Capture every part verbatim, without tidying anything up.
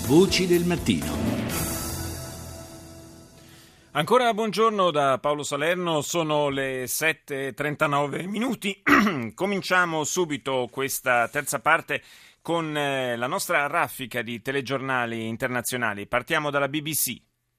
Voci del mattino. Ancora buongiorno da Paolo Salerno, sono le sette e trentanove minuti. Cominciamo subito questa terza parte con eh, la nostra raffica di telegiornali internazionali. Partiamo dalla B B C.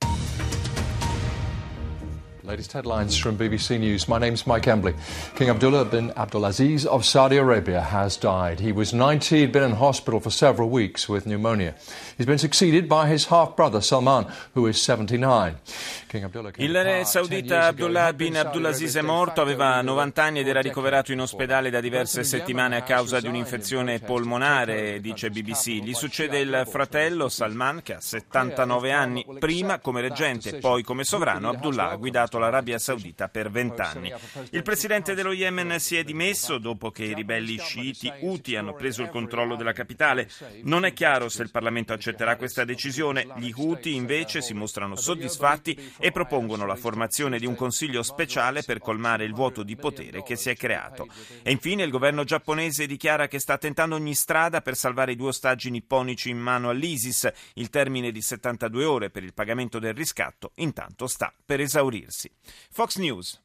Latest headlines from B B C News. My name's Mike Embley. King Abdullah bin Abdulaziz of Saudi Arabia has died. He was ninety, he'd been in hospital for several weeks with pneumonia. He's been succeeded by his half-brother Salman, who is seventy-nine. King Abdullah Il re saudita Abdullah bin Abdulaziz è morto, aveva novanta anni ed era ricoverato in ospedale da diverse settimane a causa di un'infezione polmonare, dice B B C. Gli succede il fratello Salman, che ha settantanove anni. Prima come reggente, poi come sovrano, Abdullah ha guidato l'Arabia Saudita per vent'anni. Il presidente dello Yemen si è dimesso dopo che i ribelli sciiti Houthi hanno preso il controllo della capitale. Non è chiaro se il Parlamento accetterà questa decisione. Gli Houthi invece si mostrano soddisfatti e propongono la formazione di un consiglio speciale per colmare il vuoto di potere che si è creato. E infine il governo giapponese dichiara che sta tentando ogni strada per salvare i due ostaggi nipponici in mano all'ISIS. Il termine di settantadue ore per il pagamento del riscatto intanto sta per esaurirsi. Fox News.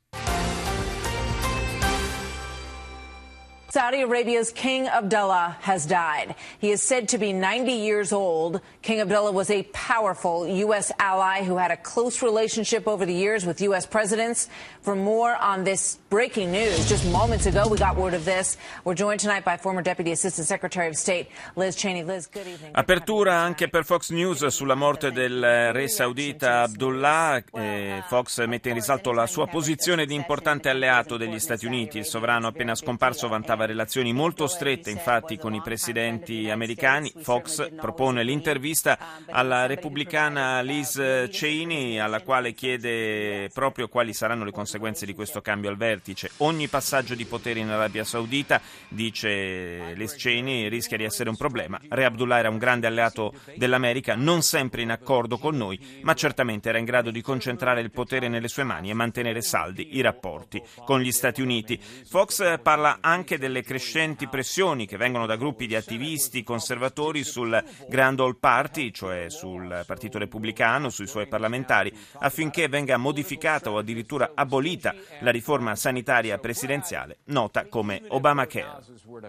Saudi Arabia's King Abdullah has died. He is said to be ninety years old. King Abdullah was a powerful U S ally who had a close relationship over the years with U S presidents. For more on this breaking news, just moments ago we got word of this. We're joined tonight by former Deputy Assistant Secretary of State Liz Cheney. Liz, good evening. Apertura anche per Fox News sulla morte del re saudita Abdullah. Eh, Fox mette in risalto la sua posizione di importante alleato degli Stati Uniti. Il sovrano appena scomparso vantava relazioni molto strette infatti con i presidenti americani. Fox propone l'intervista alla repubblicana Liz Cheney, alla quale chiede proprio quali saranno le conseguenze di questo cambio al vertice. Ogni passaggio di potere in Arabia Saudita, dice Liz Cheney, rischia di essere un problema. Re Abdullah era un grande alleato dell'America, non sempre in accordo con noi, ma certamente era in grado di concentrare il potere nelle sue mani e mantenere saldi i rapporti con gli Stati Uniti. Fox parla anche del delle crescenti pressioni che vengono da gruppi di attivisti conservatori sul Grand Old Party, cioè sul Partito Repubblicano, sui suoi parlamentari, affinché venga modificata o addirittura abolita la riforma sanitaria presidenziale nota come Obamacare.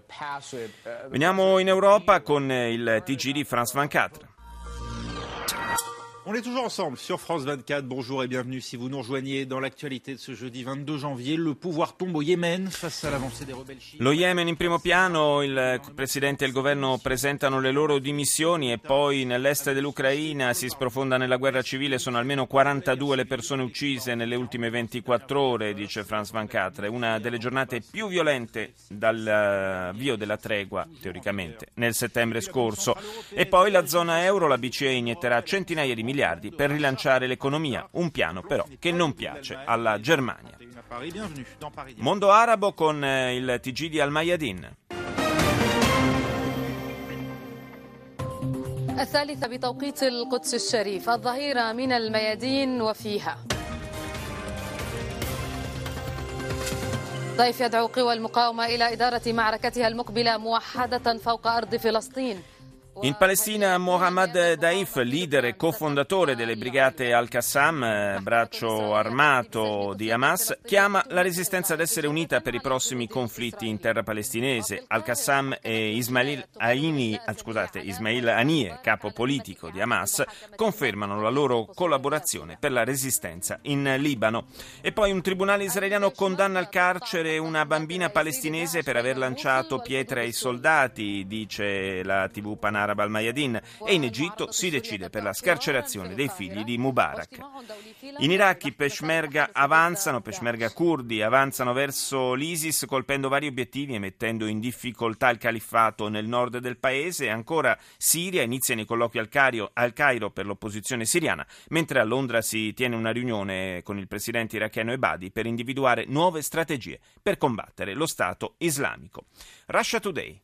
Veniamo in Europa con il T G di France ventiquattro. On est toujours ensemble sur France vingt-quatre. Bonjour et bienvenue si vous nous rejoignez dans l'actualité de ce jeudi ventidue janvier. Le pouvoir tombe au Yemen face à l'avancée des rebelles chiites. Lo Yemen in primo piano, il presidente e il governo presentano le loro dimissioni e poi nell'est dell'Ucraina si sprofonda nella guerra civile. Sono almeno quarantadue le persone uccise nelle ultime ventiquattro ore, dice France ventiquattro. È una delle giornate più violente dall'avvio della tregua, teoricamente, nel settembre scorso. E poi la zona euro, la B C E inietterà centinaia di miliardi per rilanciare l'economia, un piano però che non piace alla Germania. Mondo arabo con il T G di Al Mayadin. الثالثة بتوقيت القدس الشريف الظهيرة من الميادين وفيها ضيف يدعو قوى المقاومة إلى إدارة معركتها المقبلة موحدة فوق أرض فلسطين. In Palestina Mohammad Daif, leader e cofondatore delle brigate Al-Qassam, braccio armato di Hamas, chiama la resistenza ad essere unita per i prossimi conflitti in terra palestinese. Al-Qassam e Ismail Haniyeh, scusate, Ismail Haniyeh, capo politico di Hamas, confermano la loro collaborazione per la resistenza in Libano. E poi un tribunale israeliano condanna al carcere una bambina palestinese per aver lanciato pietre ai soldati, dice la tivù panaraba Al Mayadin, e in Egitto si decide per la scarcerazione dei figli di Mubarak. In Iraq i peshmerga avanzano, peshmerga curdi avanzano verso l'ISIS colpendo vari obiettivi e mettendo in difficoltà il califfato nel nord del paese. Ancora Siria, iniziano i colloqui al Cairo, al Cairo per l'opposizione siriana, mentre a Londra si tiene una riunione con il presidente iracheno Ebadi per individuare nuove strategie per combattere lo Stato islamico. Russia Today.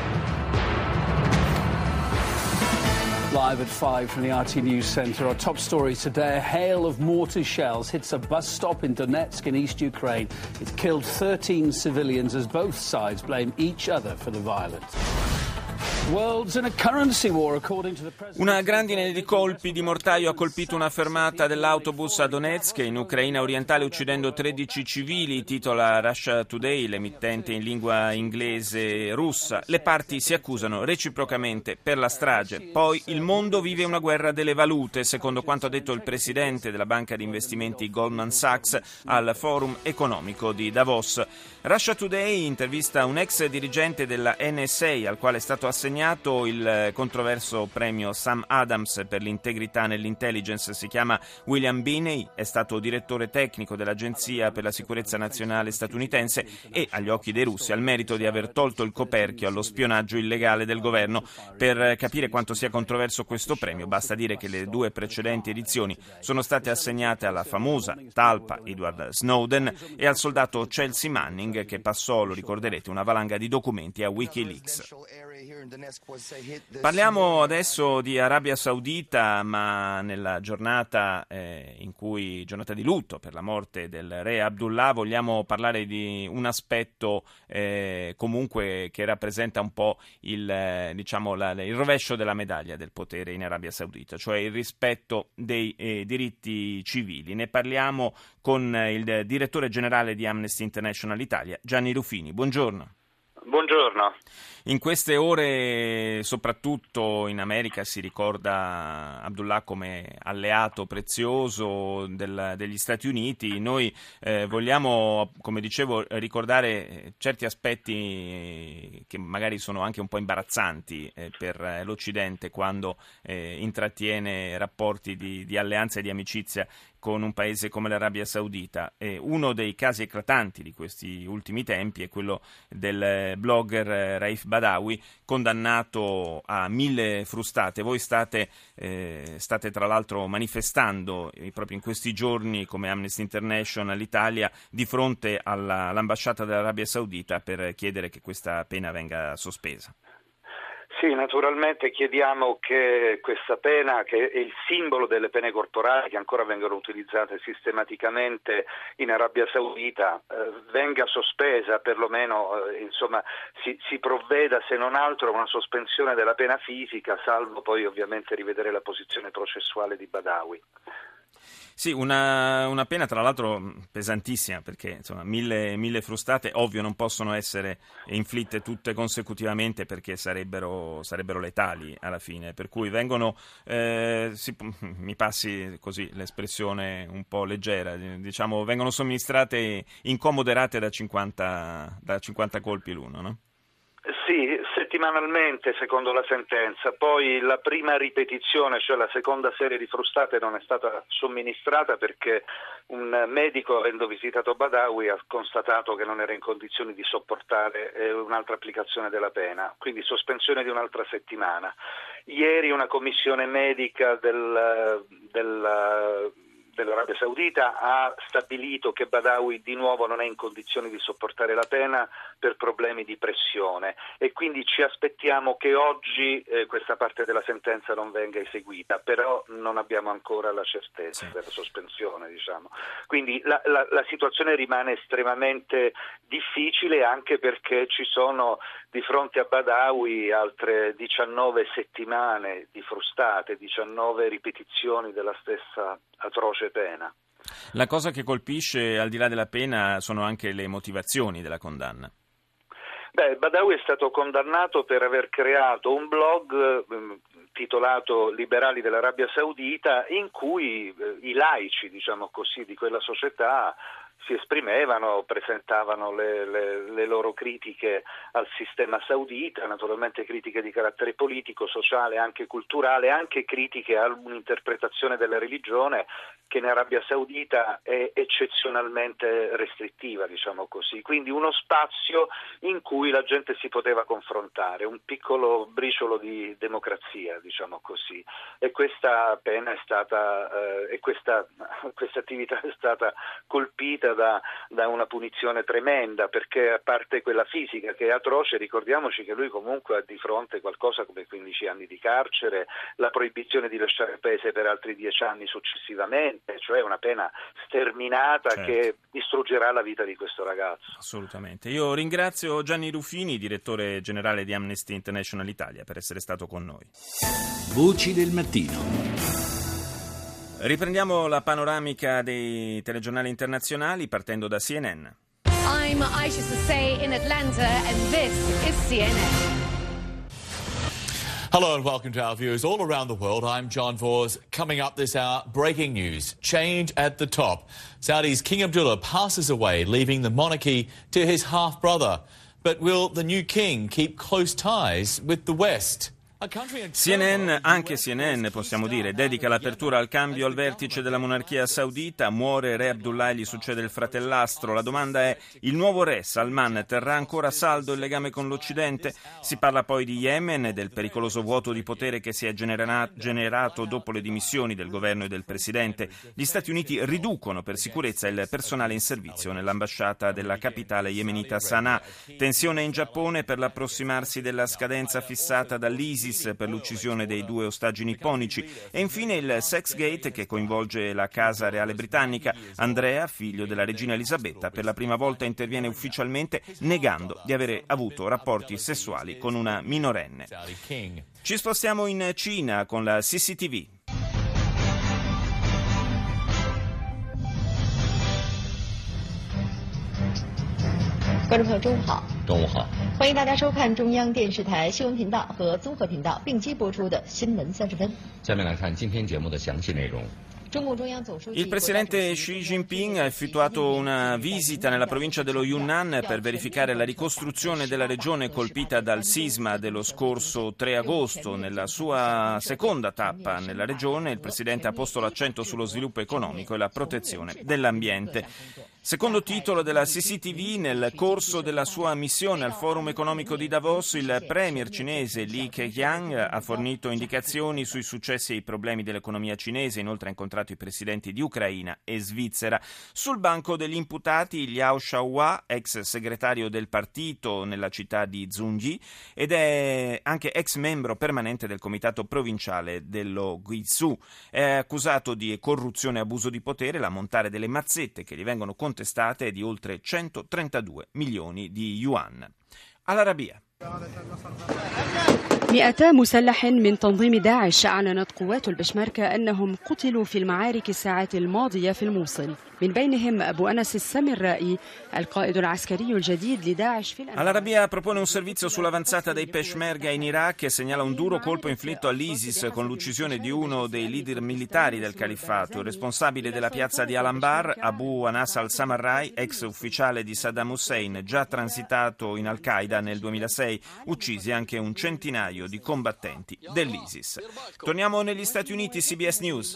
Live at five from the R T News Centre. Our top story today, a hail of mortar shells hits a bus stop in Donetsk in East Ukraine. It's killed thirteen civilians as both sides blame each other for the violence. Una grandine di colpi di mortaio ha colpito una fermata dell'autobus a Donetsk, in Ucraina orientale, uccidendo tredici civili, titola Russia Today, l'emittente in lingua inglese russa. Le parti si accusano reciprocamente per la strage. Poi il mondo vive una guerra delle valute, secondo quanto ha detto il presidente della banca di investimenti Goldman Sachs al forum economico di Davos. Russia Today intervista un ex dirigente della N S A al quale è stato assegnato il controverso premio Sam Adams per l'integrità nell'intelligence. Si chiama William Binney, è stato direttore tecnico dell'Agenzia per la sicurezza nazionale statunitense e, agli occhi dei russi, ha il merito di aver tolto il coperchio allo spionaggio illegale del governo. Per capire quanto sia controverso questo premio basta dire che le due precedenti edizioni sono state assegnate alla famosa talpa Edward Snowden e al soldato Chelsea Manning, che passò, lo ricorderete, una valanga di documenti a Wikileaks. Parliamo adesso di Arabia Saudita, ma nella giornata eh, in cui giornata di lutto per la morte del re Abdullah vogliamo parlare di un aspetto eh, comunque che rappresenta un po' il, eh, diciamo, la, il rovescio della medaglia del potere in Arabia Saudita, cioè il rispetto dei eh, diritti civili. Ne parliamo con il direttore generale di Amnesty International Italia, Gianni Rufini. Buongiorno. Buongiorno. In queste ore, soprattutto in America, si ricorda Abdullah come alleato prezioso del, degli Stati Uniti. Noi eh, vogliamo, come dicevo, ricordare certi aspetti che magari sono anche un po' imbarazzanti eh, per l'Occidente quando eh, intrattiene rapporti di, di alleanza e di amicizia con un paese come l'Arabia Saudita. E uno dei casi eclatanti di questi ultimi tempi è quello del blogger Raif Badawi, condannato a mille frustate. Voi state, eh, state tra l'altro manifestando eh, proprio in questi giorni come Amnesty International Italia di fronte alla, all'ambasciata dell'Arabia Saudita per chiedere che questa pena venga sospesa. Sì, naturalmente chiediamo che questa pena, che è il simbolo delle pene corporali che ancora vengono utilizzate sistematicamente in Arabia Saudita, eh, venga sospesa, perlomeno eh, insomma si, si provveda se non altro a una sospensione della pena fisica, salvo poi ovviamente rivedere la posizione processuale di Badawi. Sì, una, una pena tra l'altro pesantissima, perché insomma mille, mille frustate ovvio non possono essere inflitte tutte consecutivamente perché sarebbero, sarebbero letali alla fine, per cui vengono, eh, si, mi passi così l'espressione un po' leggera, diciamo vengono somministrate incomoderate da cinquanta, da cinquanta colpi l'uno, no? Sì, settimanalmente secondo la sentenza, poi la prima ripetizione, cioè la seconda serie di frustate non è stata somministrata perché un medico, avendo visitato Badawi, ha constatato che non era in condizioni di sopportare eh, un'altra applicazione della pena, quindi sospensione di un'altra settimana. Ieri una commissione medica del, del dell'Arabia Saudita ha stabilito che Badawi di nuovo non è in condizioni di sopportare la pena per problemi di pressione e quindi ci aspettiamo che oggi eh, questa parte della sentenza non venga eseguita, però non abbiamo ancora la certezza della sospensione, diciamo. Quindi la, la, la situazione rimane estremamente difficile anche perché ci sono di fronte a Badawi altre diciannove settimane di frustate, diciannove ripetizioni della stessa atroce pena. La cosa che colpisce al di là della pena sono anche le motivazioni della condanna. Beh, Badawi è stato condannato per aver creato un blog eh, titolato Liberali dell'Arabia Saudita in cui eh, i laici, diciamo così, di quella società si esprimevano, presentavano le, le, le loro critiche al sistema saudita, naturalmente critiche di carattere politico, sociale, anche culturale, anche critiche a un'interpretazione della religione che in Arabia Saudita è eccezionalmente restrittiva, diciamo così. Quindi uno spazio in cui la gente si poteva confrontare, un piccolo briciolo di democrazia, diciamo così. E questa pena è stata, eh, e questa, questa attività è stata colpita punita da, da una punizione tremenda, perché a parte quella fisica che è atroce, ricordiamoci che lui comunque ha di fronte qualcosa come quindici anni di carcere, la proibizione di lasciare il paese per altri dieci anni successivamente, cioè una pena sterminata, certo, che distruggerà la vita di questo ragazzo. Assolutamente. Io ringrazio Gianni Ruffini, direttore generale di Amnesty International Italia, per essere stato con noi. Voci del mattino. Riprendiamo la panoramica dei telegiornali internazionali partendo da C N N. I'm Aisha Sasay in Atlanta and this is C N N. Hello and welcome to our viewers all around the world. I'm John Vors. Coming up this hour, breaking news. Change at the top. Saudi's King Abdullah passes away, leaving the monarchy to his half-brother. But will the new king keep close ties with the West? C N N, anche C N N possiamo dire, dedica l'apertura al cambio al vertice della monarchia saudita. Muore re Abdullah e gli succede il fratellastro. La domanda è: il nuovo re Salman terrà ancora saldo il legame con l'Occidente? Si parla poi di Yemen e del pericoloso vuoto di potere che si è genera- generato dopo le dimissioni del governo e del presidente. Gli Stati Uniti riducono per sicurezza il personale in servizio nell'ambasciata della capitale yemenita Sana'a. Tensione in Giappone per l'approssimarsi della scadenza fissata dall'ISIS per l'uccisione dei due ostaggi nipponici. E infine il Sexgate, che coinvolge la casa reale britannica. Andrea, figlio della regina Elisabetta, per la prima volta interviene ufficialmente negando di avere avuto rapporti sessuali con una minorenne. Ci spostiamo in Cina con la C C T V. 观众朋友，中午好。中午好，欢迎大家收看中央电视台新闻频道和综合频道并机播出的《新闻三十分》。 下面来看今天节目的详细内容。 Il presidente Xi Jinping ha effettuato una visita nella provincia dello Yunnan per verificare la ricostruzione della regione colpita dal sisma dello scorso tre agosto. Nella sua seconda tappa nella regione, il presidente ha posto l'accento sullo sviluppo economico e la protezione dell'ambiente. Secondo titolo della C C T V, nel corso della sua missione al Forum economico di Davos, il premier cinese Li Keqiang ha fornito indicazioni sui successi e i problemi dell'economia cinese, inoltre ha incontrato i presidenti di Ucraina e Svizzera. Sul banco degli imputati Liao Xiaohua, ex segretario del partito nella città di Zhongyi ed è anche ex membro permanente del comitato provinciale dello Guizhou. È accusato di corruzione e abuso di potere, l'ammontare delle mazzette che gli vengono contestate è di oltre centotrentadue milioni di yuan. All'Arabia. مئتا مسلح من تنظيم داعش أعلنت قوات البشمركة أنهم قتلوا في المعارك الساعات الماضية في الموصل من بينهم أبو أنس السامرائي القائد العسكري الجديد لداعش في All'Arabia propone un servizio sull'avanzata dei Peshmerga in Iraq e segnala un duro colpo inflitto all'ISIS con l'uccisione di uno dei leader militari del califfato. Il responsabile della piazza di Al-Anbar, Abu Anas al-Samarrai, ex ufficiale di Saddam Hussein, già transitato in Al-Qaeda nel duemilasei, uccisi anche un centinaio di combattenti dell'ISIS. Torniamo negli Stati Uniti, C B S News.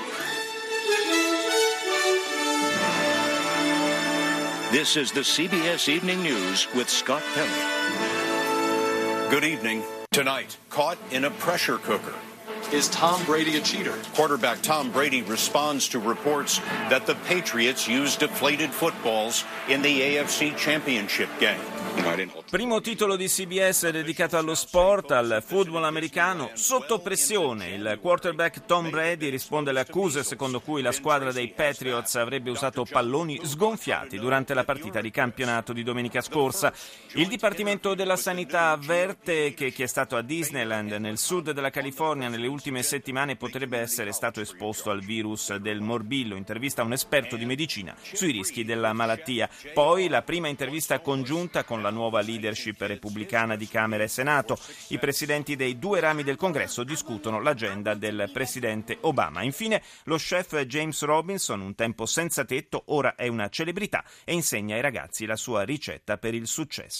This is the C B S Evening News with Scott Pelley. Good evening. Tonight, caught in a pressure cooker. Is Tom Brady a cheater? Quarterback Tom Brady responds to reports that the Patriots used deflated footballs in the A F C Championship game. Primo titolo di C B S dedicato allo sport, al football americano. Sotto pressione, il quarterback Tom Brady risponde alle accuse secondo cui la squadra dei Patriots avrebbe usato palloni sgonfiati durante la partita di campionato di domenica scorsa. Il Dipartimento della Sanità avverte che chi è stato a Disneyland nel sud della California nelle ultime settimane potrebbe essere stato esposto al virus del morbillo. Intervista a un esperto di medicina sui rischi della malattia. Poi la prima intervista congiunta con la nuova leadership repubblicana di Camera e Senato. I presidenti dei due rami del Congresso discutono l'agenda del presidente Obama. Infine, lo chef James Robinson, un tempo senza tetto, ora è una celebrità e insegna ai ragazzi la sua ricetta per il successo.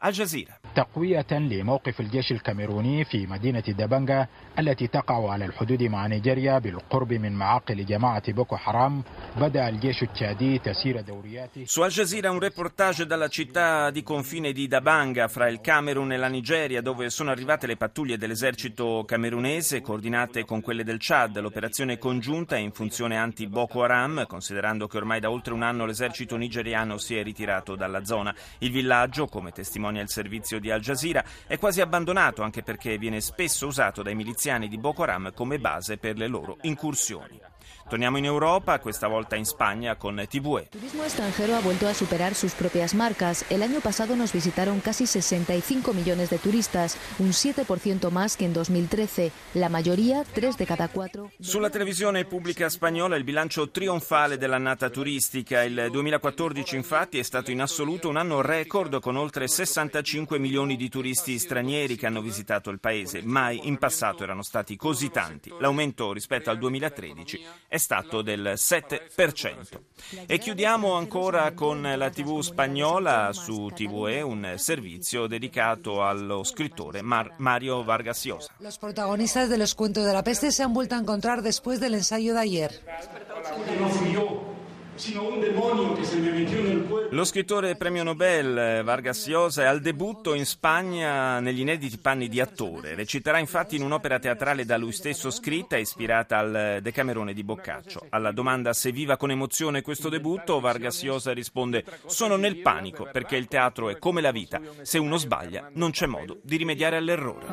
Al Jazeera. تقوية لموقف الجيش الكاميروني في مدينة دابانغا التي تقع على الحدود مع نيجيريا بالقرب من معاقل جماعة بوكو حرام بدأ الجيش التشادي تسير دورياته. Su Al Jazeera un reportage dalla città di confine di Dabanga fra il Camerun e la Nigeria, dove sono arrivate le pattuglie dell'esercito camerunese coordinate con quelle del Chad. L'operazione congiunta è in funzione anti-Boko Haram, considerando che ormai da oltre un anno l'esercito nigeriano si è ritirato dalla zona. Il villaggio, come testimonia il servizio di Al Jazeera, è quasi abbandonato anche perché viene spesso usato dai miliziani di Boko Haram come base per le loro incursioni. Torniamo in Europa, questa volta in Spagna con T V E. El turismo extranjero ha vuelto a superar sus propias marcas. El año pasado nos visitaron casi sesenta y cinco millones de turistas, un siete por ciento más que en dos mil trece. La mayoría, tres de cada cuatro. Sulla televisione pubblica spagnola il bilancio trionfale dell'annata turistica. Il duemilaquattordici infatti è stato in assoluto un anno record con oltre sessantacinque milioni di turisti stranieri che hanno visitato il paese. Mai in passato erano stati così tanti. L'aumento rispetto al duemilatredici è stato del sette per cento. E chiudiamo ancora con la tivù spagnola. Su T V E un servizio dedicato allo scrittore Mar- Mario Vargas Llosa. Los protagonistas de los cuentos de la peste se han vuelto a encontrar después del ensayo de ayer. Lo scrittore premio Nobel Vargas Llosa è al debutto in Spagna negli inediti panni di attore. Reciterà infatti in un'opera teatrale da lui stesso scritta e ispirata al Decamerone di Boccaccio. Alla domanda se viva con emozione questo debutto, Vargas Llosa risponde: sono nel panico perché il teatro è come la vita, se uno sbaglia non c'è modo di rimediare all'errore.